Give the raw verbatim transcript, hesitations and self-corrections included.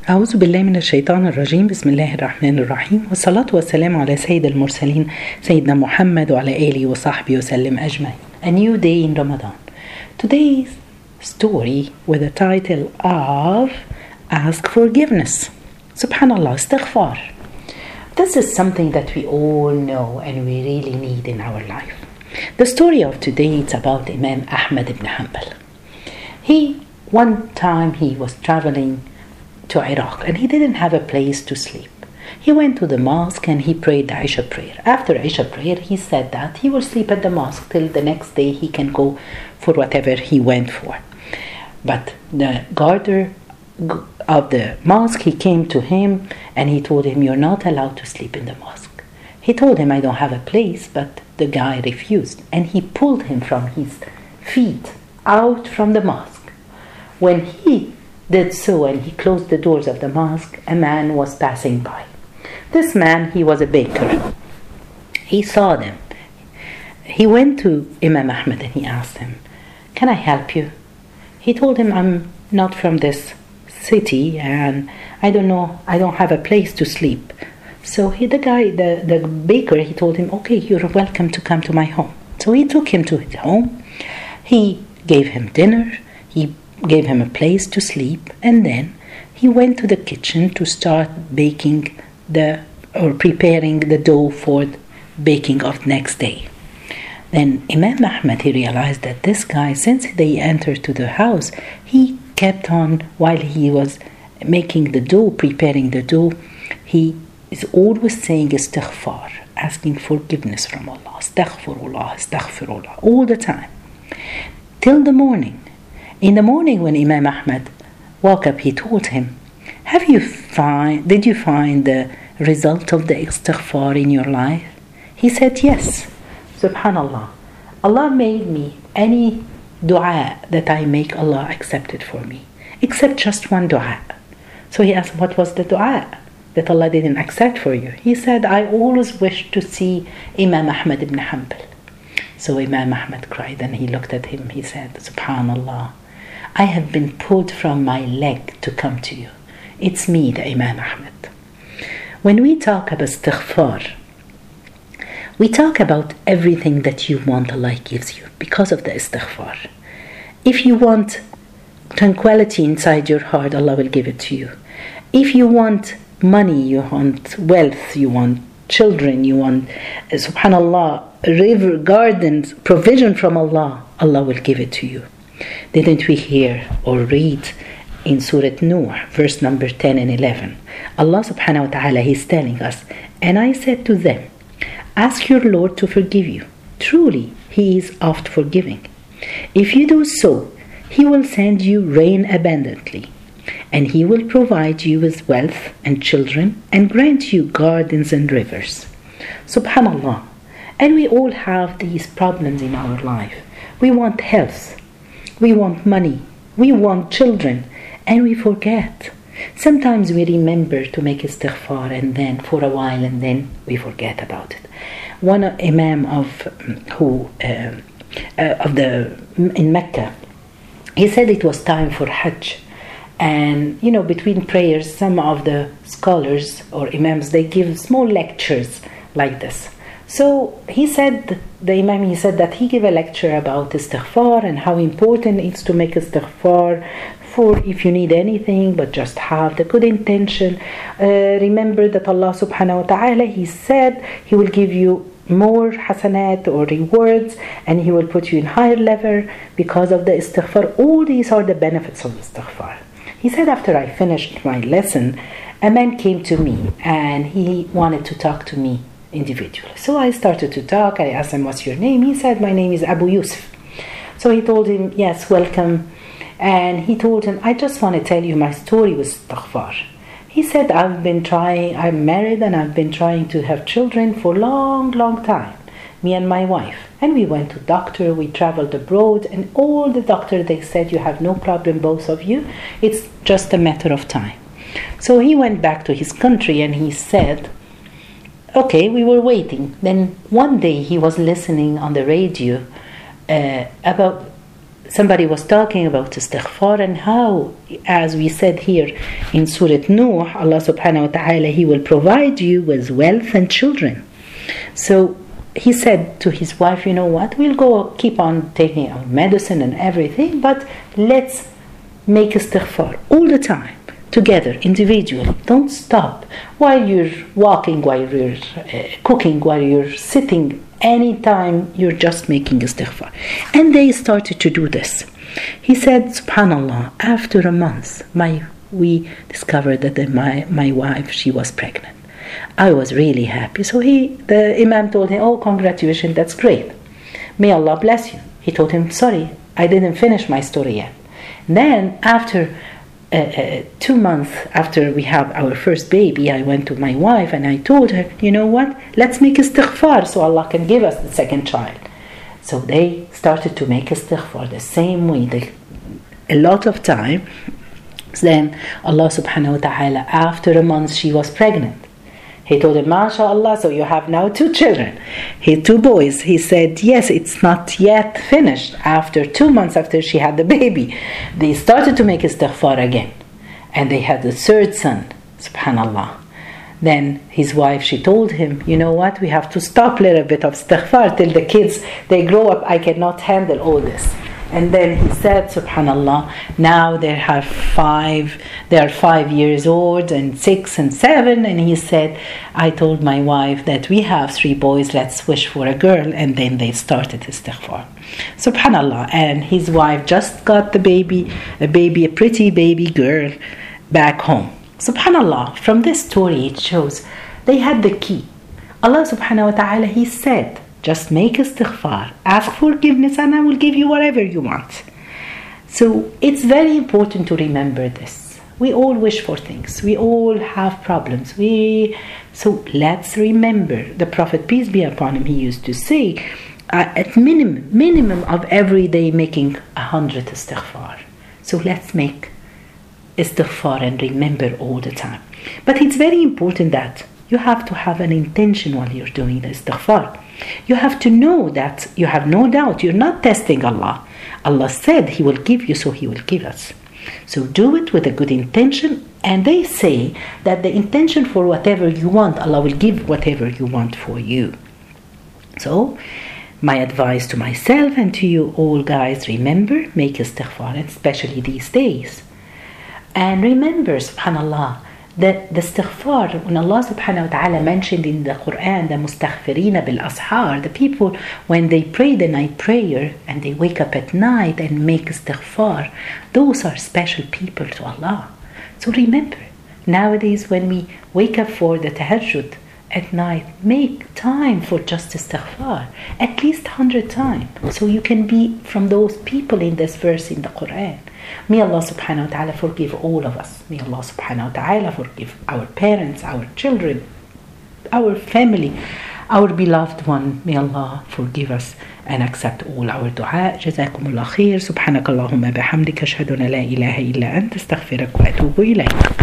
أعوذ بالله من الشيطان الرجيم. بسم الله الرحمن الرحيم، والصلاة والسلام على سيد المرسلين سيدنا محمد وعلى آله وصحبه وسلم أجمعين. A new day in Ramadan. Today's story with the title of Ask Forgiveness. Subhanallah, istighfar. This is something that we all know and we really need in our life. The story of today is about Imam Ahmad ibn Hanbal. He, one time he was traveling to Iraq and he didn't have a place to sleep. He went to the mosque and he prayed the Isha prayer. After Isha prayer, he said that he will sleep at the mosque till the next day he can go for whatever he went for. But the guarder of the mosque, he came to him and he told him, "You're not allowed to sleep in the mosque." He told him, "I don't have a place," but the guy refused and he pulled him from his feet out from the mosque. When he did so and he closed the doors of the mosque, a man was passing by. This man, he was a baker. He saw them. He went to Imam Ahmad and he asked him, "Can I help you?" He told him, "I'm not from this city and I don't know, I don't have a place to sleep." So he, the guy, the, the baker, he told him, "Okay, you're welcome to come to my home." So he took him to his home. He gave him dinner. He gave him a place to sleep, and then he went to the kitchen to start baking the or preparing the dough for baking of next day. Then Imam Ahmad, he realized that this guy, since they entered to the house, he kept on while he was making the dough, preparing the dough, he is always saying istighfar, asking forgiveness from Allah, astaghfirullah, astaghfirullah, all the time, till the morning. In the morning when Imam Ahmad woke up, he told him, "Have you find, did you find the result of the istighfar in your life?" He said, "Yes." Subhanallah, Allah made me any dua that I make, Allah accepted for me, except just one dua. So he asked, "What was the dua that Allah didn't accept for you?" He said, "I always wished to see Imam Ahmad ibn Hanbal." So Imam Ahmad cried and he looked at him. He said, "Subhanallah, I have been pulled from my leg to come to you. It's me, the Imam Ahmad." When we talk about istighfar, we talk about everything that you want Allah gives you because of the istighfar. If you want tranquility inside your heart, Allah will give it to you. If you want money, you want wealth, you want children, you want, uh, subhanallah, river, gardens, provision from Allah, Allah will give it to you. Didn't we hear or read in Surah Nuh, verse number ten and eleven? Allah subhanahu wa ta'ala, He's telling us, "And I said to them, ask your Lord to forgive you. Truly, He is oft forgiving. If you do so, He will send you rain abundantly, and He will provide you with wealth and children, and grant you gardens and rivers." Subhanallah. And we all have these problems in our life. We want health. We want money, we want children, and we forget. Sometimes we remember to make istighfar and then for a while and then we forget about it. One imam of who uh, uh, of the in Mecca, he said it was time for Hajj, and you know, between prayers, some of the scholars or imams, they give small lectures like this. So he said, the Imam, he said that he gave a lecture about istighfar and how important it is to make istighfar for if you need anything, but just have the good intention. Uh, remember that Allah subhanahu wa ta'ala, He said He will give you more hasanat or rewards, and He will put you in higher level because of the istighfar. All these are the benefits of istighfar. He said, after I finished my lesson, a man came to me and he wanted to talk to me individually. So I started to talk. I asked him, "What's your name?" He said, "My name is Abu Yusuf." So he told him, "Yes, welcome." And he told him, "I just want to tell you my story with istighfar." He said, "I've been trying, I'm married and I've been trying to have children for long, long time, me and my wife. And we went to doctor, we traveled abroad, and all the doctor, they said, you have no problem, both of you. It's just a matter of time." So he went back to his country and he said, okay, we were waiting. Then one day he was listening on the radio uh, about somebody was talking about istighfar and how, as we said here in Surah Nuh, Allah subhanahu wa ta'ala, He will provide you with wealth and children. So he said to his wife, you know what, we'll go keep on taking our medicine and everything, but let's make istighfar all the time, together, individually. Don't stop while you're walking, while you're uh, cooking, while you're sitting. Anytime you're just making istighfar. And they started to do this. He said, subhanallah, after a month, my we discovered that the, my, my wife, she was pregnant. I was really happy. So he, the Imam told him, oh, congratulations, that's great. May Allah bless you. He told him, sorry, I didn't finish my story yet. Then after Uh, uh, two months after we have our first baby, I went to my wife and I told her, you know what, let's make istighfar so Allah can give us the second child. So they started to make istighfar the same way, they, a lot of time. Then Allah subhanahu wa ta'ala, after a month she was pregnant. He told him, MashaAllah, so you have now two children. He two boys. He said, yes, it's not yet finished. After two months after she had the baby, they started to make istighfar again. And they had the third son, subhanallah. Then his wife, she told him, you know what, we have to stop a little bit of istighfar till the kids, they grow up. I cannot handle all this. And then he said, subhanallah, now they have five, they are five years old and six and seven. And he said, I told my wife that we have three boys, let's wish for a girl. And then they started istighfar. Subhanallah. And his wife just got the baby, a baby, a pretty baby girl back home. Subhanallah. From this story, it shows they had the key. Allah subhanahu wa ta'ala, He said, just make istighfar, ask forgiveness, and I will give you whatever you want. So it's very important to remember this. We all wish for things. We all have problems. We so let's remember. The Prophet, peace be upon him, he used to say, uh, at minimum, minimum of every day making a hundred istighfar. So let's make istighfar and remember all the time. But it's very important that you have to have an intention while you're doing the istighfar. You have to know that you have no doubt. You're not testing Allah. Allah said He will give you, so He will give us. So do it with a good intention. And they say that the intention for whatever you want, Allah will give whatever you want for you. So my advice to myself and to you all, guys, remember, make istighfar, especially these days. And remember, subhanallah, that the istighfar, when Allah subhanahu wa ta'ala mentioned in the Quran, the mustaghfirina bil ashar, the people when they pray the night prayer and they wake up at night and make istighfar, those are special people to Allah. So remember, nowadays when we wake up for the tahajjud at night, make time for just istighfar, at least one hundred times, so you can be from those people in this verse in the Quran. May Allah subhanahu wa ta'ala forgive all of us. May Allah subhanahu wa ta'ala forgive our parents, our children, our family, our beloved one. May Allah forgive us and accept all our dua. جزاكم الله خير. سبحانك اللهم بحمدك أشهد أن لا إله إلا أنت أستغفرك وأتوب إليك.